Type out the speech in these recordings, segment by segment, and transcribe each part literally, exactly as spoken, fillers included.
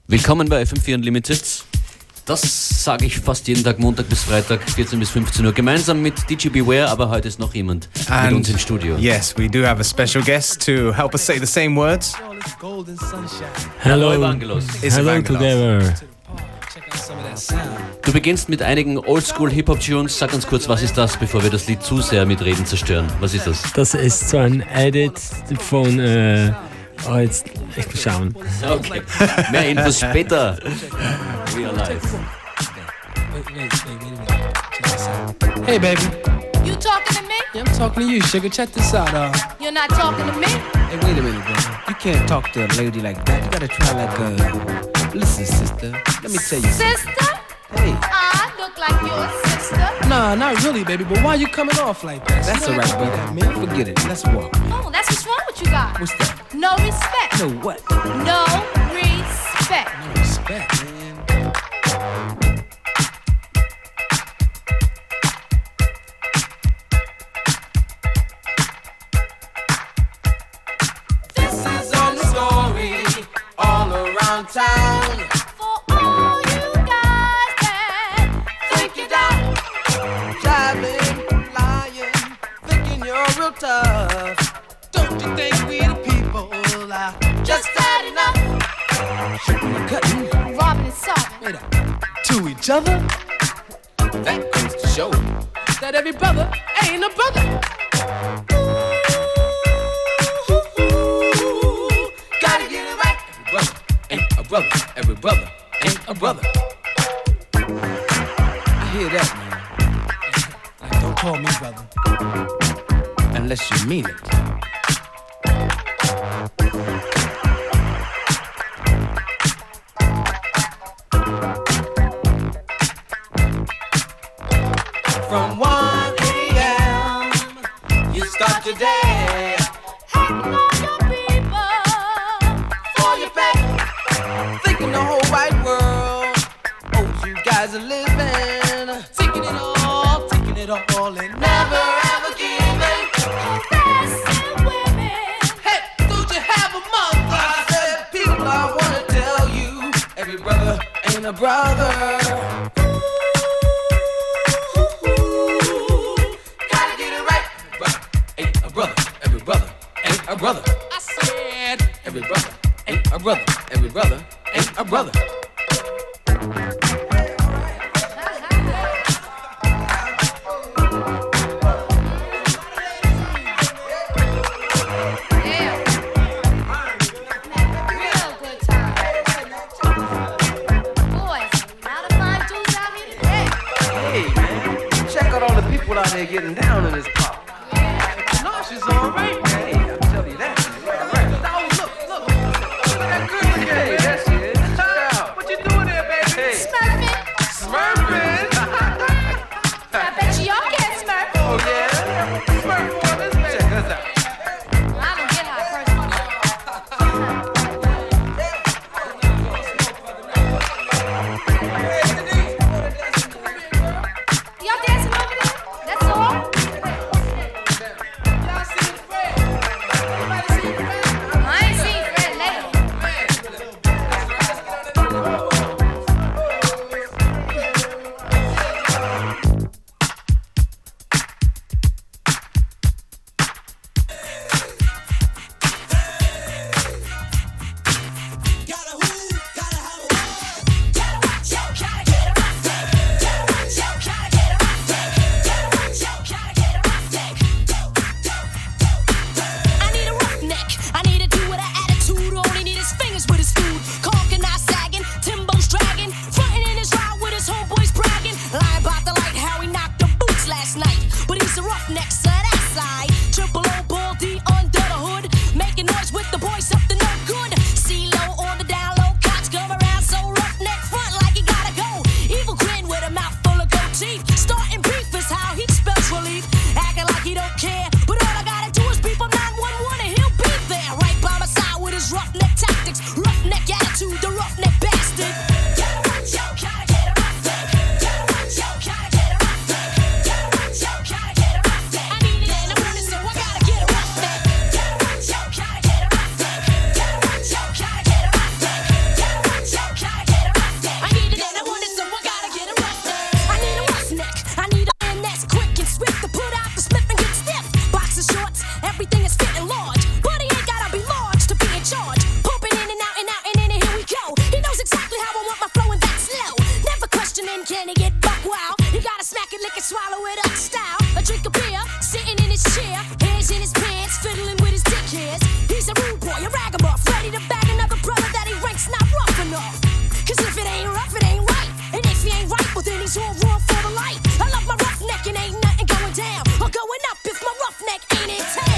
Willkommen bei F M vier Unlimited. Das sage ich fast jeden Tag, Montag bis Freitag, vierzehn bis fünfzehn Uhr, gemeinsam mit D J Beware, aber heute ist noch jemand And mit uns im Studio. Yes, we do have a special guest to help us say the same words. Hello, Evangelos. Hello together. Du beginnst mit einigen Oldschool-Hip-Hop-Tunes. Sag uns kurz, was ist das, bevor wir das Lied zu sehr mit Reden zerstören? Was ist das? Das ist so ein Edit von... Äh, oh, jetzt... Ich muss schauen. Okay, mehr Infos später. We are live. Hey, baby. You talking to me? Yeah, I'm talking to you, sugar. Check this out, uh. You're not talking to me? Hey, wait a minute, brother. You can't talk to a lady like that. You gotta try like a... Listen, sister. Let me tell you something. Sister? Hey. I look like your sister. Nah, not really, baby. But why you coming off like that? That's You all right, know brother. that, Man, forget it. Let's walk. Oh, that's what's wrong with you guys. What's that? No respect. No what? No respect. No respect, man. This is on the story all around town. For all you guys that think you're down. Traveling, lying, thinking you're real tough. Don't you think we the people are just had enough? Shooting and cutting, Robbing and solving. wait up, to each other. That goes to show that every brother ain't a brother. Ooh, gotta get it right. Every brother ain't a brother. Every brother ain't a brother. I hear that, man. Like, don't call me brother unless you mean it. From one a.m. you start your day. Hating on your people. For your faith, thinking the whole wide world owes you guys a living. Taking it all, taking it all, and never ever giving. Harassing women. Hey, don't you have a mother? I said, people, I wanna tell you, every brother ain't a brother. Gotta get it right. Brother ain't a brother. Every brother ain't a brother. I said, every brother ain't a brother. Every brother ain't a brother. Yeah. Real good time. Boys, a lot of fine dudes out here today. Hey, man, check out all the people out there getting down in this pop. No, she's all right, man. Hey, I'll tell you that. She's all right. Oh, look, look. Look at that girl again. Hey, there she is. Check her out. What you doing there, baby? Hey. Smurfing. Smurfing. I bet you y'all can't smurf. Oh, yeah? Smurf on this, man. Check us out. I don't get how personally. Y'all dancing over there? That's all? Y'all seen Fred? Everybody seen Fred? I ain't seen Fred lately. I need a roughneck. I need a dude with an attitude. All he need is fingers with his food. Caulking, not sagging. Timbo's dragging. Frontin' in his ride with his homeboys bragging. Lying about the light how he knocked the boots last night. But he's a roughneck, so that side. Triple O, ball D under the hood. Making noise with the boys up to no good. C-low on the down low. Cops come around so roughneck front like he gotta go. Evil grin with a mouth full of gold teeth. Starting beef is how he spells relief. Acting like he don't care. But all I gotta do is beep on nine one one and he'll be there. Right by my side with his roughneck tactics. Roughneck attitude, the roughneck bastard. I need it in the morning, so I gotta get a roughneck. it, lick it, swallow it up style. A drink of beer, sitting in his chair, hands in his pants, fiddling with his dick hairs. He's a rude boy, a ragamuff, ready to bag another brother that he ranks not rough enough. Cause if it ain't rough, it ain't right. And if he ain't right, well then he's all wrong for the light. I love my roughneck and ain't nothing going down or going up if my roughneck ain't in town.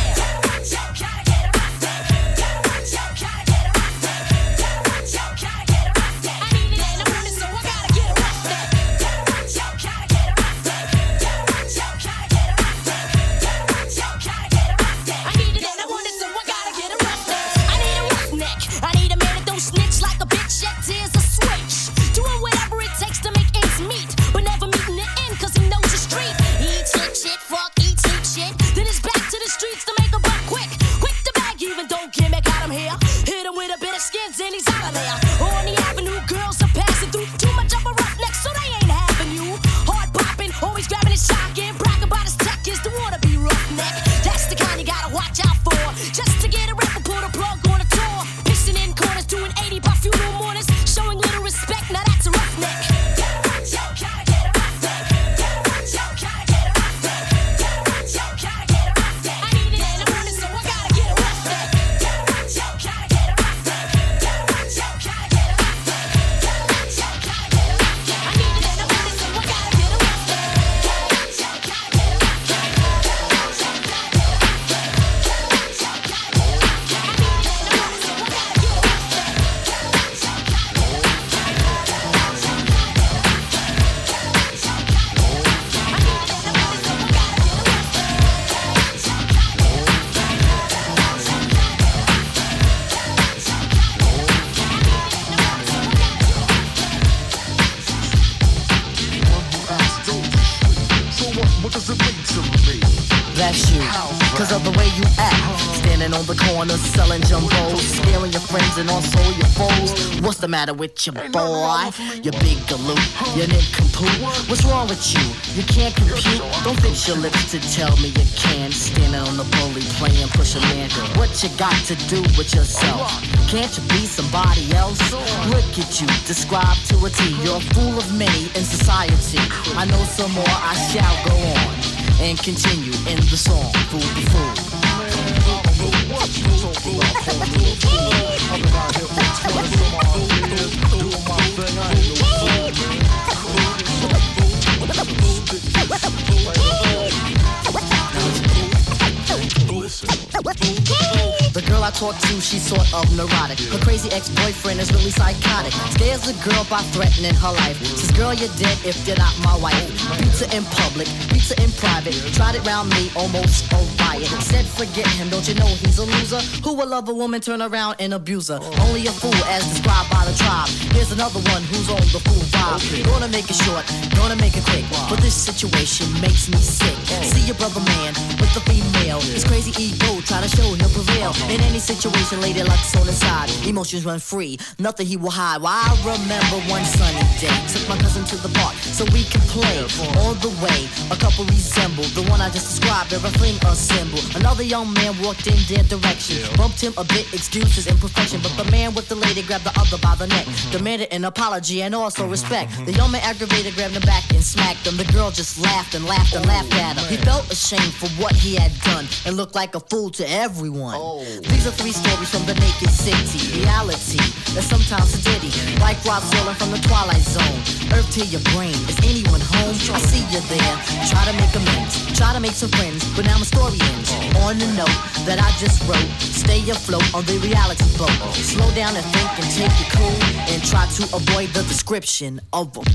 What's the matter with your boy? You big galoot, you nincompoop. What's wrong with you? You can't compute. Don't fix your lips to tell me you can. Standing on the bully playing push a man. What you got to do with yourself? Can't you be somebody else? Look at you, describe to a T. You're a fool of many in society. I know some more, I shall go on and continue in the song. Fool the fool. The girl I talk to, she's sort of neurotic. Her crazy ex-boyfriend is really psychotic. Scares the girl by threatening her life. Says, girl, you're dead if you're not my wife. Beats her in public, beats her in private. Tried it round me, almost a riot. Said forget him, don't you know he's a loser? Who will love a woman, turn around and abuse her? Only a fool as described by the tribe. Here's another one who's on the fool vibe. Gonna make it short, gonna make it quick. But this situation makes me sick. See your brother man with the female. His crazy ego, try to show he'll prevail. In any situation, lady luck's on his side. Emotions run free, nothing he will hide. Well, I remember one sunny day, took my cousin to the park so we could play. On the way, a couple resembled the one I just described, they're a fling a symbol. Another young man walked in their direction, bumped him a bit, excuses imperfection. But the man with the lady grabbed the other by the neck, demanded an apology and also respect. The young man aggravated, grabbed him back and smacked him. The girl just laughed and laughed and laughed at him. He felt ashamed for what he had done and looked like a fool to everyone. These are three stories from the naked city. Reality that's sometimes a ditty, like Rob Zolan from the Twilight Zone. Earth to your brain, is anyone home? I see you there, try to make amends, try to make some friends, but now my story ends on the note that I just wrote. Stay afloat on the reality boat. Slow down and think and take it cool, and try to avoid the description of them.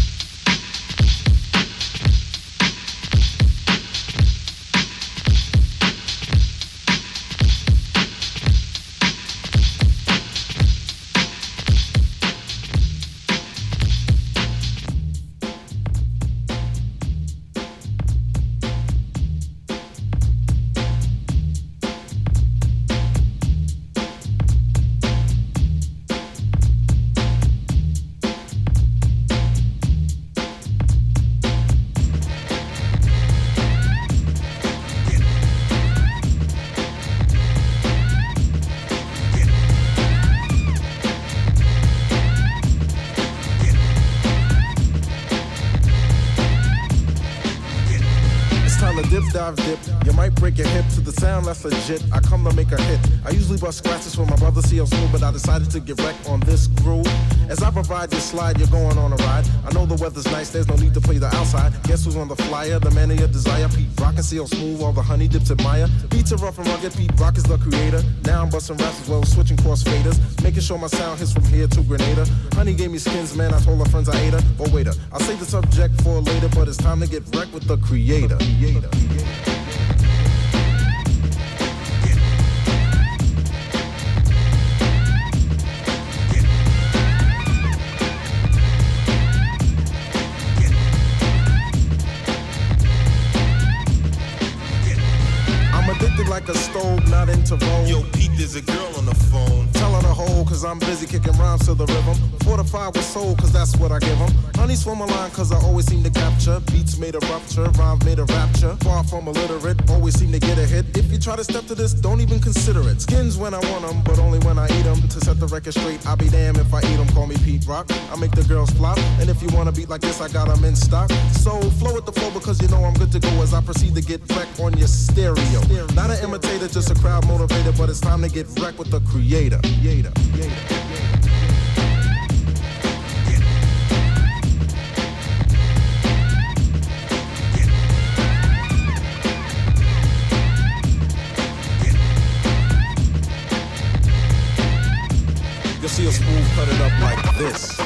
It's time to dip, dive, dip. You might break your hip to the sound that's legit. I come to make a hit. I usually bust scratches for my brother C L Smooth, but I decided to get wrecked on this groove. As I provide this slide, you're going on a ride. I know the weather's nice, there's no need to play the outside. Guess who's on the flyer? The man of your desire. Pete Rock and C L Smooth, all the honey dips admire. Beats are rough and rugged, Pete Rock is the creator. Now I'm busting raps as well as switching cross faders. Making sure my sound hits from here to Grenada. Honey gave me skins, man, I told her friends I ate her. But waiter, I'll save the subject for later, but it's time to get wrecked with the creator. creator. Like a stove, not into roll. Yo, Pete, there's a girl on the phone. Tell her to hold, cause I'm busy kicking rhymes to the rhythm. Fortified with soul, cause that's what I give them. Honey's from a line, cause I always seem to capture. Beats made a rupture, rhymes made a rapture. Far from illiterate, always seem to get a hit. If you try to step to this, don't even consider it. Skins when I want them, but only when I eat them. To set the record straight, I'll be damned if I eat them. Call me Pete Rock, I make the girls flop. And if you want a beat like this, I got them in stock. So flow with the flow, because you know I'm good to go as I proceed to get wrecked on your stereo. Not an imitator, just a crowd motivator, but it's time to get wrecked with the creator. Creator. Creator. You'll see a Smooth cut it up like this.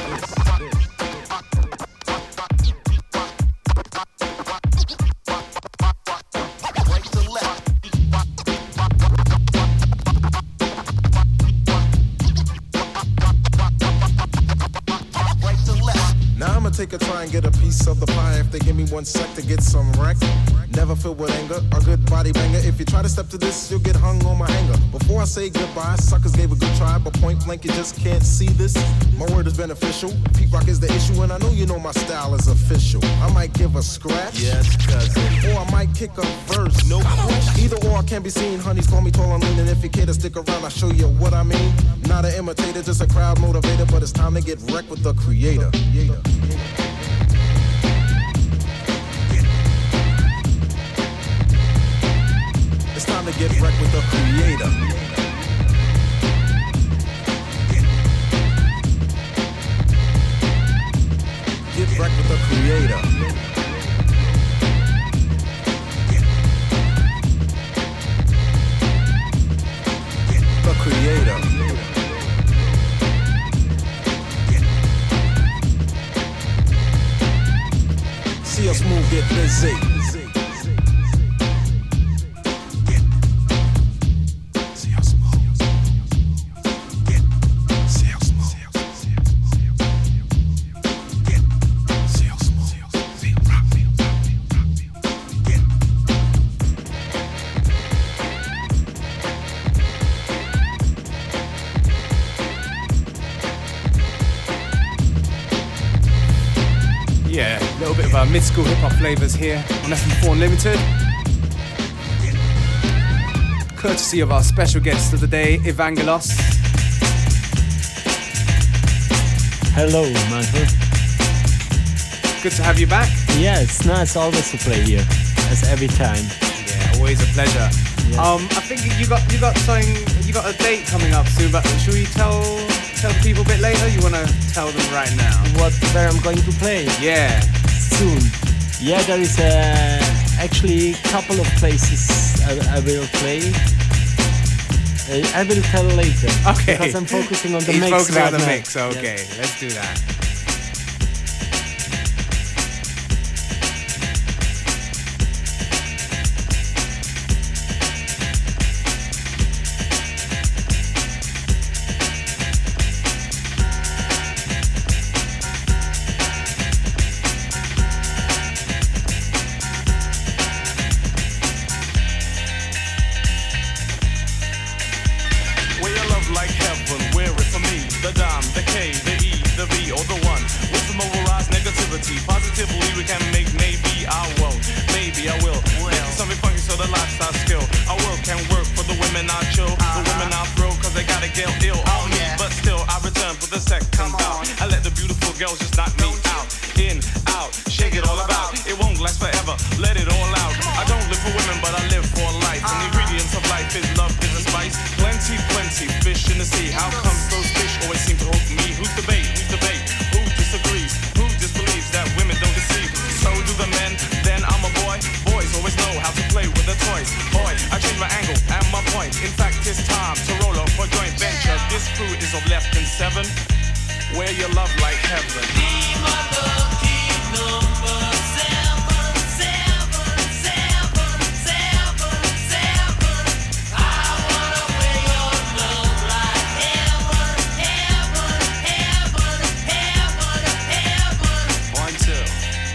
Take a try and get a piece of the pie. If they give me one sec to get some wreck, never filled with anger, a good body banger. If you try to step to this, you'll get hung on my hanger. Before I say goodbye, suckers gave a good try, but point blank, you just can't see this. My word is beneficial. Pete Rock is the issue, and I know you know my style is official. I might give a scratch, yes, cousin, or I might kick a verse. No question. Either or can be seen. Honeys call me tall and lean, and if you care to stick around, I'll show you what I mean. Not an imitator, just a crowd motivator, but it's time to get wrecked with the creator. creator. It's time to get wrecked with the creator. Get wrecked with the creator. The creator. See us move, get busy. Uh, mid-school hip-hop flavors here on F M four Unlimited. Courtesy of our special guest of the day, Evangelos. Hello, Michael. Good to have you back. Yeah, it's nice always to play here, as every time. Yeah, always a pleasure. Yes. Um, I think you got you got something, you got a date coming up soon. But should we tell tell the people a bit later? You want to tell them right now? What where I'm going to play? Yeah. Soon. Yeah, there is a, actually a couple of places I, I will play. I, I will tell later. Okay. Because I'm focusing on the He's mix. focusing right on the now. mix. Okay, Yes. let's do that. Like heaven, where it's for me, the dime, the K, the E, the V, or the the sea. How comes those fish always seem to hook me? Who's the bait? Who's the bait? Who disagrees? Who disbelieves that women don't deceive? So do the men, then I'm a boy. Boys always know how to play with their toys. Boy, I change my angle and my point. In fact, it's time to roll up for joint venture. This crew is of less than seven. Wear your love like heaven. Be my lucky number seven, seven, seven, seven, seven. I wanna wear your love like heaven, heaven, heaven, heaven, heaven. One, two.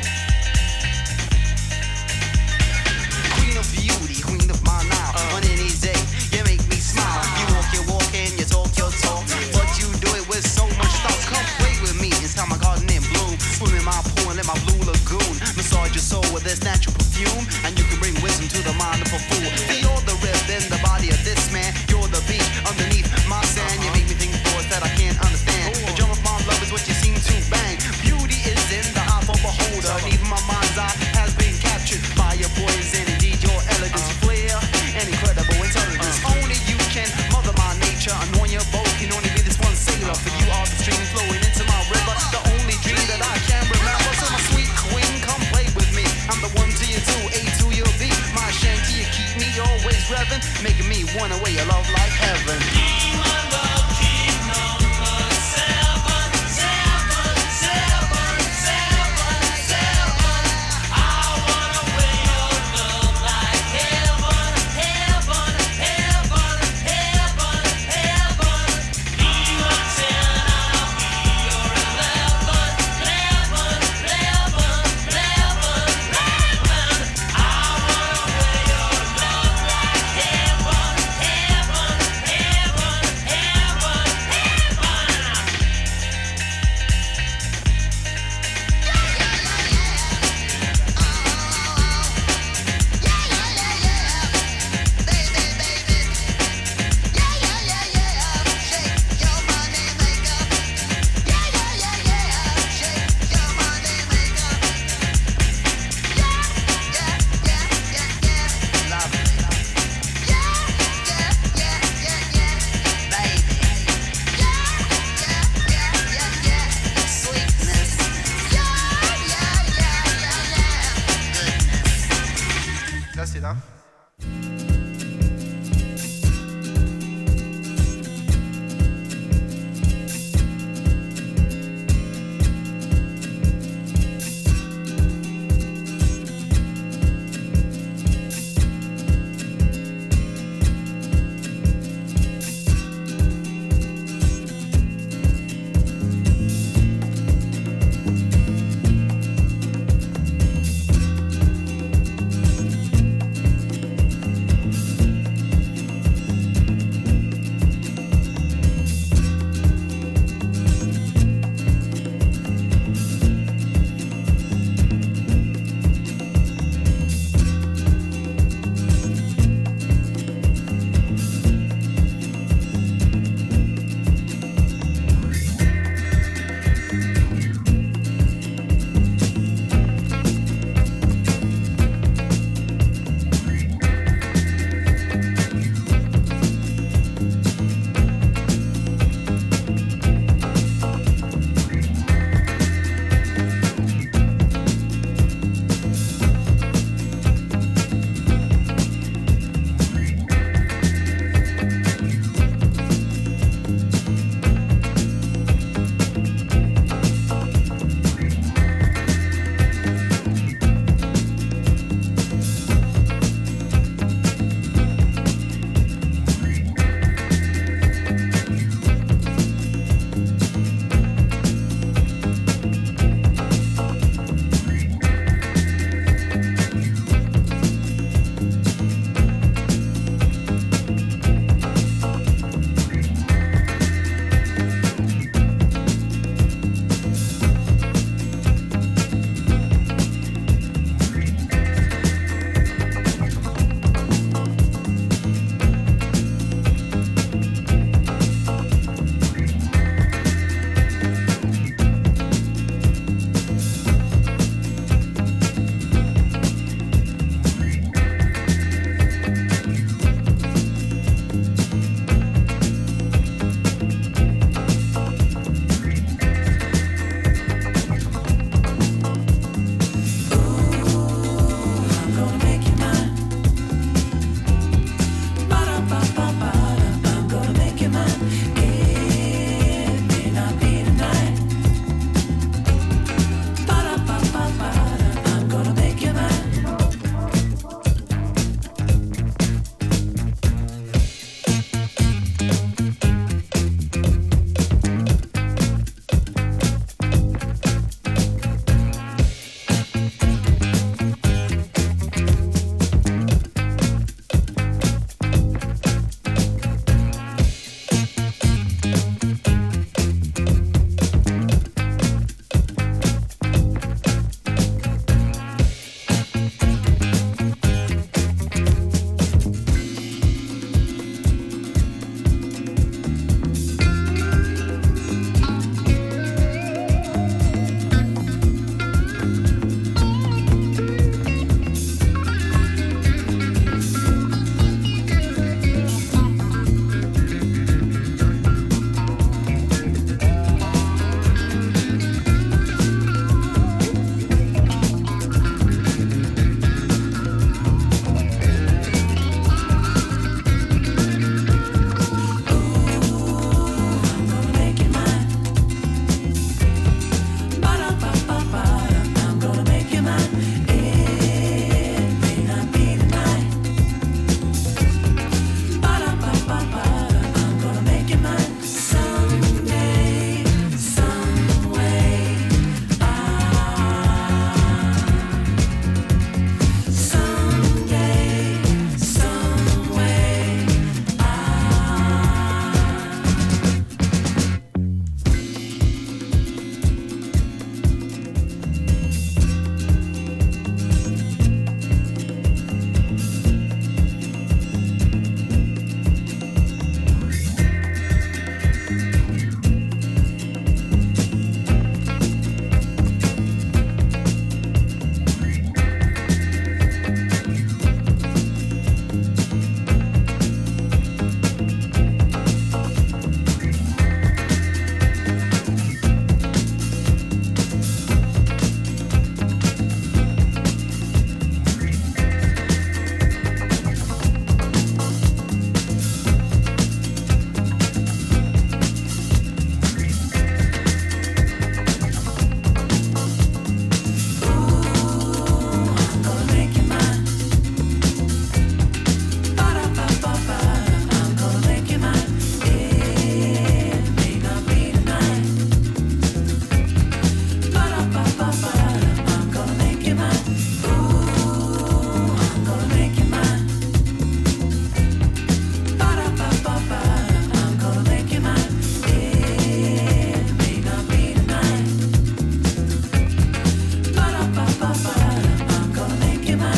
Queen of beauty, queen of my now. Uh. On any day, you make me smile. You walk your walk and you talk your talk, but you do it with so much thought. Come play with me inside my garden in bloom. Swim in my pool and in my blue lagoon. Massage your soul with this natural perfume, and you can bring wisdom to the mind of a fool. You're the rib in the body of this man. You're the beach underneath my sand. You make me think thoughts that I can't understand. The drum of my love is what you seem to bang. Beauty is in the eye of a beholder, and even my mind's eye has been captured by your poison. Indeed, your elegance, flair, and incredible intelligence. Only you can mother my nature. Anoint your boat can only be this one sailor. For you are the stream flowing into my river, the only dream that I can remember. So my sweet queen, come play with me. I'm the one to you two, A to your B. My shanty, you keep me always revving, making me wanna wear your love like heaven. Be my lucky number seven, seven, seven, seven, seven. I wanna wear your love like heaven, heaven, heaven, heaven, heaven. Be my ten, I'll be your eleven, eleven, eleven, eleven, eleven. I wanna wear your love like heaven, heaven, heaven, heaven, heaven. That's it, huh?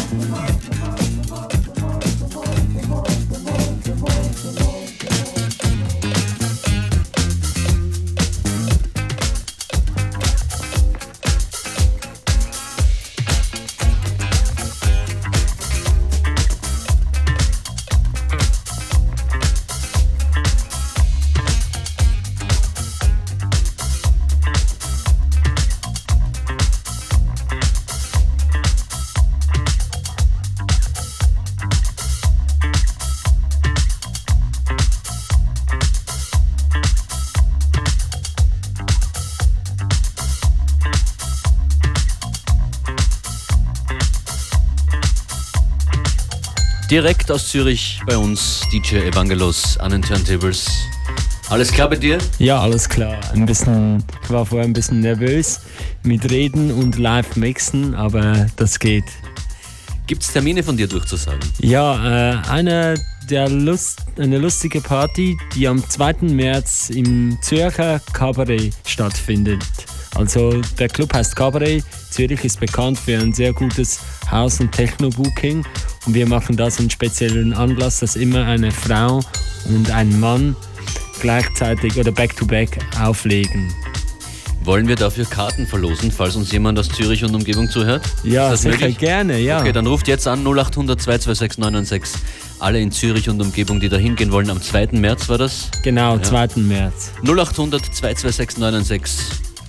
Direkt aus Zürich bei uns D J Evangelos an den Turntables. Alles klar bei dir? Ja, alles klar. Ein bisschen, ich war vorher ein bisschen nervös mit Reden und Live-Mixen, aber das geht. Gibt es Termine von dir durchzusagen? Ja, äh, eine, der Lust, eine lustige Party, die am zweiten März im Zürcher Cabaret stattfindet. Also der Club heißt Cabaret. Zürich ist bekannt für ein sehr gutes House- und Techno-Booking. Und wir machen das einen speziellen Anlass, dass immer eine Frau und ein Mann gleichzeitig oder back-to-back auflegen. Wollen wir dafür Karten verlosen, falls uns jemand aus Zürich und Umgebung zuhört? Ja, ist das sicher, möglich? gerne, ja. Okay, dann ruft jetzt an null acht hundert zwei zwei sechs neun neun sechs. Alle in Zürich und Umgebung, die da hingehen wollen. Am zweiten März war das? Genau, ja. zweiten März. null acht hundert zwei zwei sechs neun neun sechs.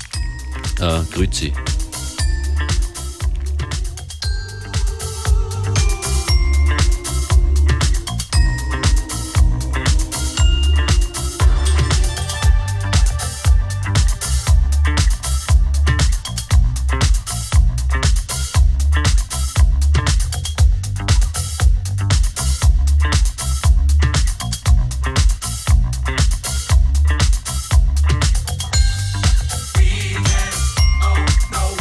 Äh, grüezi. No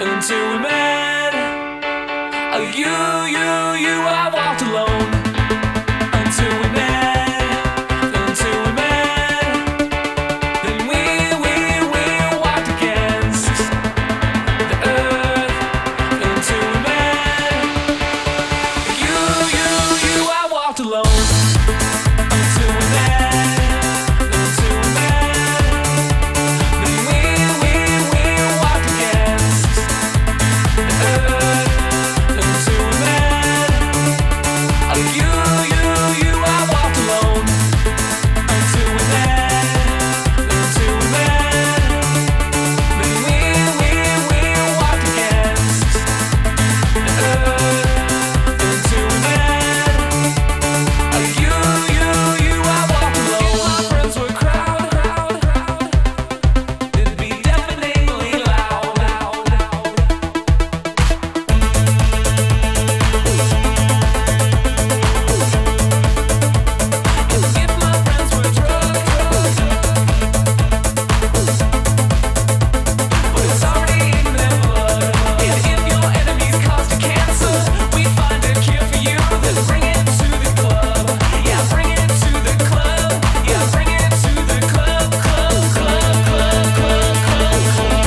until we met. Oh, you, you, you, I walked alone until we met, until we met. Then we, we, we walked against the earth until we met. You, you, you, I walked alone until we met, until we met. Then we, we, we walked against the earth until we met. Oh, you, you, you, I walked alone until we met, until we met. Then we, we, we walked against the earth until we met. Oh, you, you, you, I walked alone. If my friends were crowd, crowd, crowd, it'd be deafeningly loud, loud, loud. If my friends were drug, but it's already in their blood. And if your enemies caused you cancer, we'd find a cure for you. Then bring it to the club. Yeah, bring it to the club. Yeah, bring it to the club, club, club, club, club, club, club.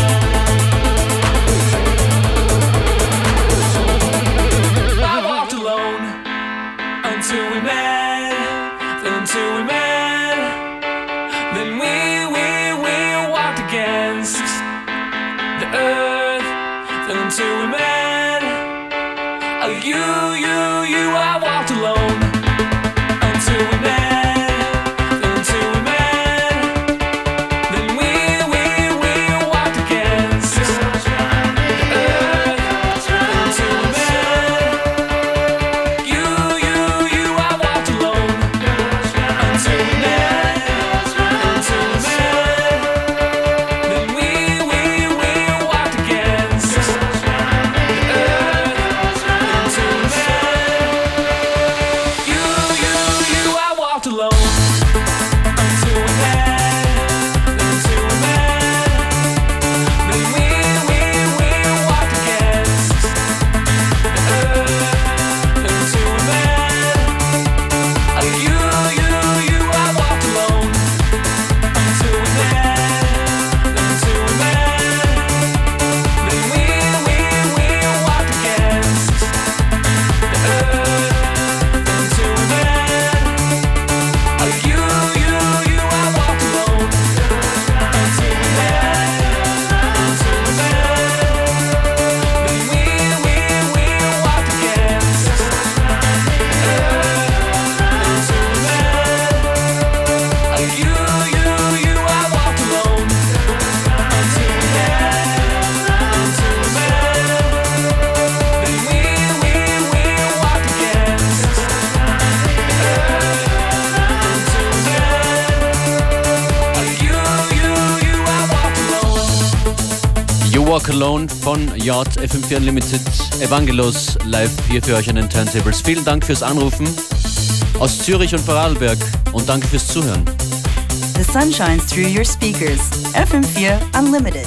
I walked alone until we met, until we met. Then we, we, we walked against the earth until we met. Oh, you, you, you, I walked alone until we met, until we met. Then we, we, we walked against the earth until we met. You, you, you, I walked alone until we met, until we met. Then we, we, we walked against the earth until we met. You, you, you, I walked alone until we met, until we met. Then we, we, we walked against the earth until we met. Oh, you, you, you, I walked alone until we met, until we met. Then we, we, we walked against the earth until we met. Oh, you, you, you, I walked alone until we met, until we met. Then we, we, we walked against the earth until we met. Oh, you, you, you, I walked alone until we met, until we met. Then we, we, we walked against the earth until we met. Oh, you, you, you, I walked alone. You Walk Alone von Yacht F M vier Unlimited, Evangelos live hier für euch an den Turntables. Vielen Dank fürs Anrufen aus Zürich und Vorarlberg und danke fürs Zuhören. The sun shines through your speakers. F M four Unlimited.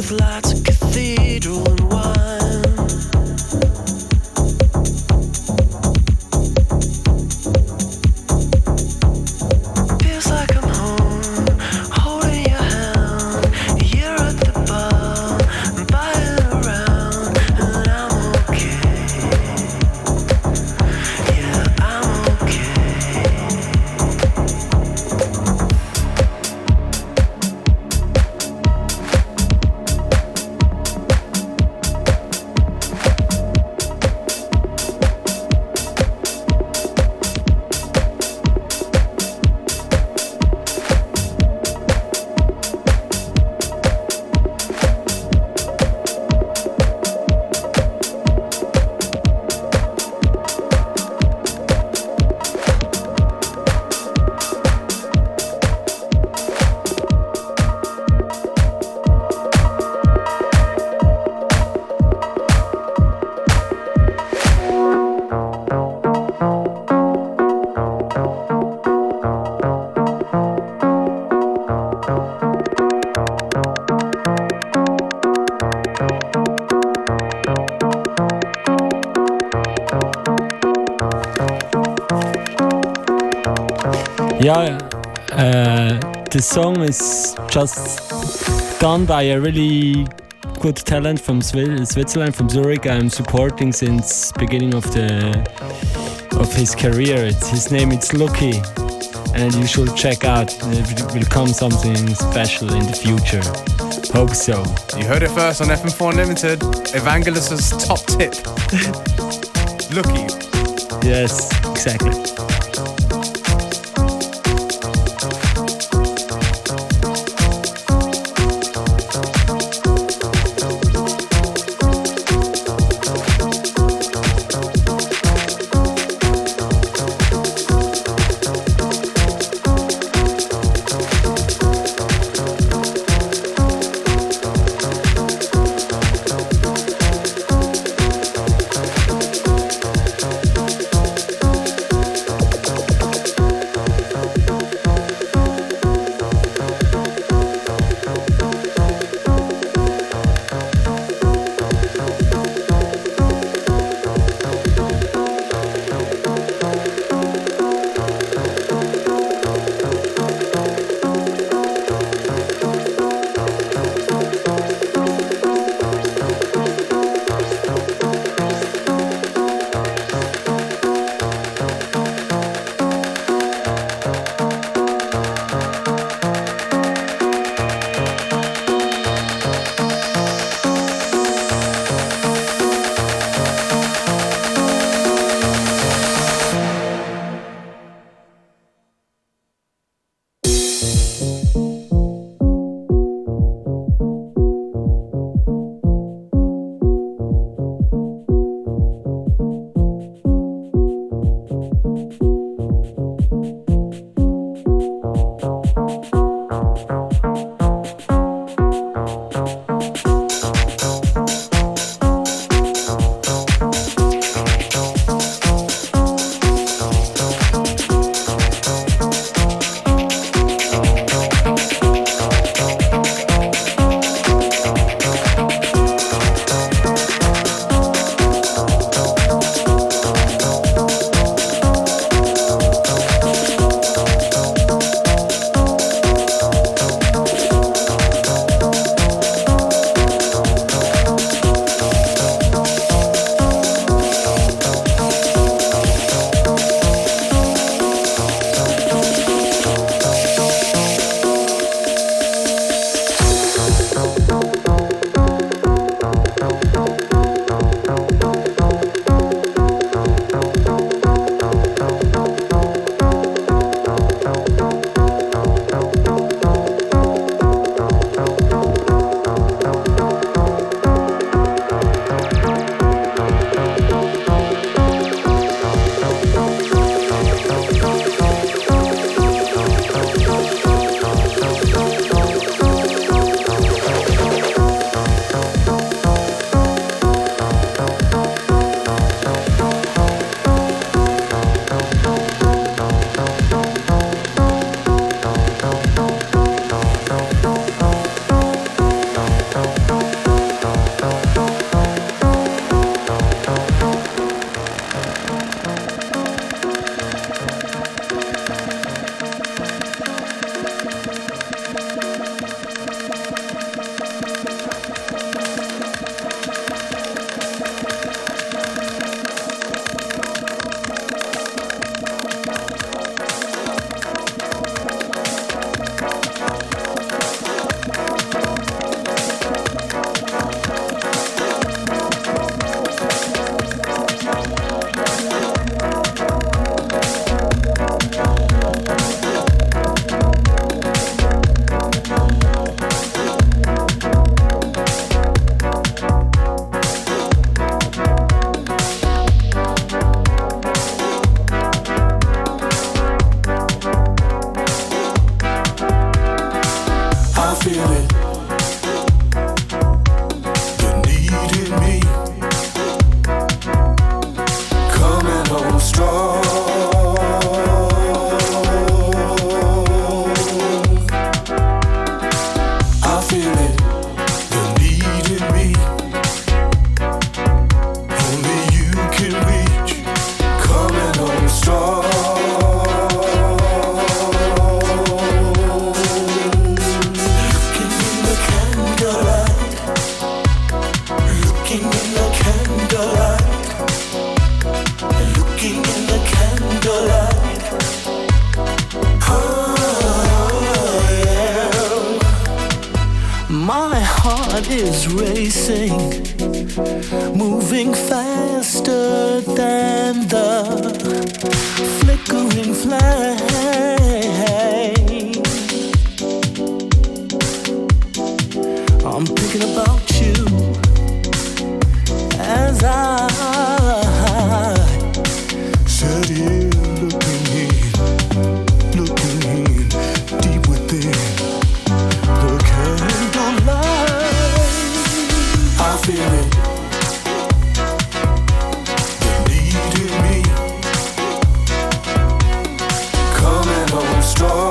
of lights, a cathedral and wine. Feels like I'm home, holding your hand. You're at the bar, buying around, and I'm okay. Yeah, I'm okay. Yeah, uh, the song is just done by a really good talent from Swi- Switzerland, from Zurich. I'm supporting since beginning of the of his career. It's, his name is Lucky, and you should check out. It will come something special in the future. Hope so. You heard it first on F M four Unlimited. Evangelos' top tip. Lucky. Yes, exactly. heart is racing, moving faster than the flickering flame. I'm thinking about you as I sit here looking in, looking in, deep within the candlelight. I feel it, the need in me, coming on strong.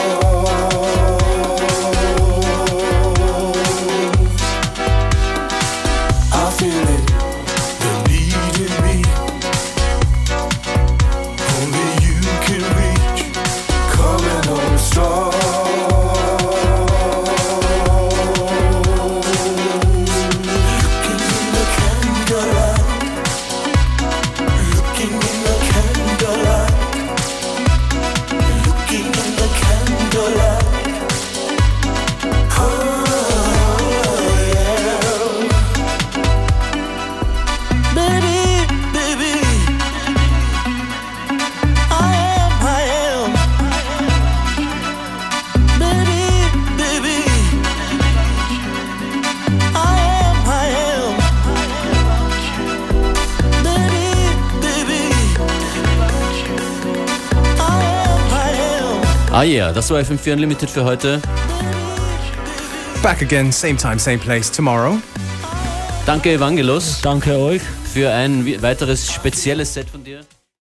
Ah ja, yeah, das war F M vier Unlimited für heute. Back again, same time, same place, tomorrow. Danke Evangelos. Danke euch. Für ein weiteres spezielles Set von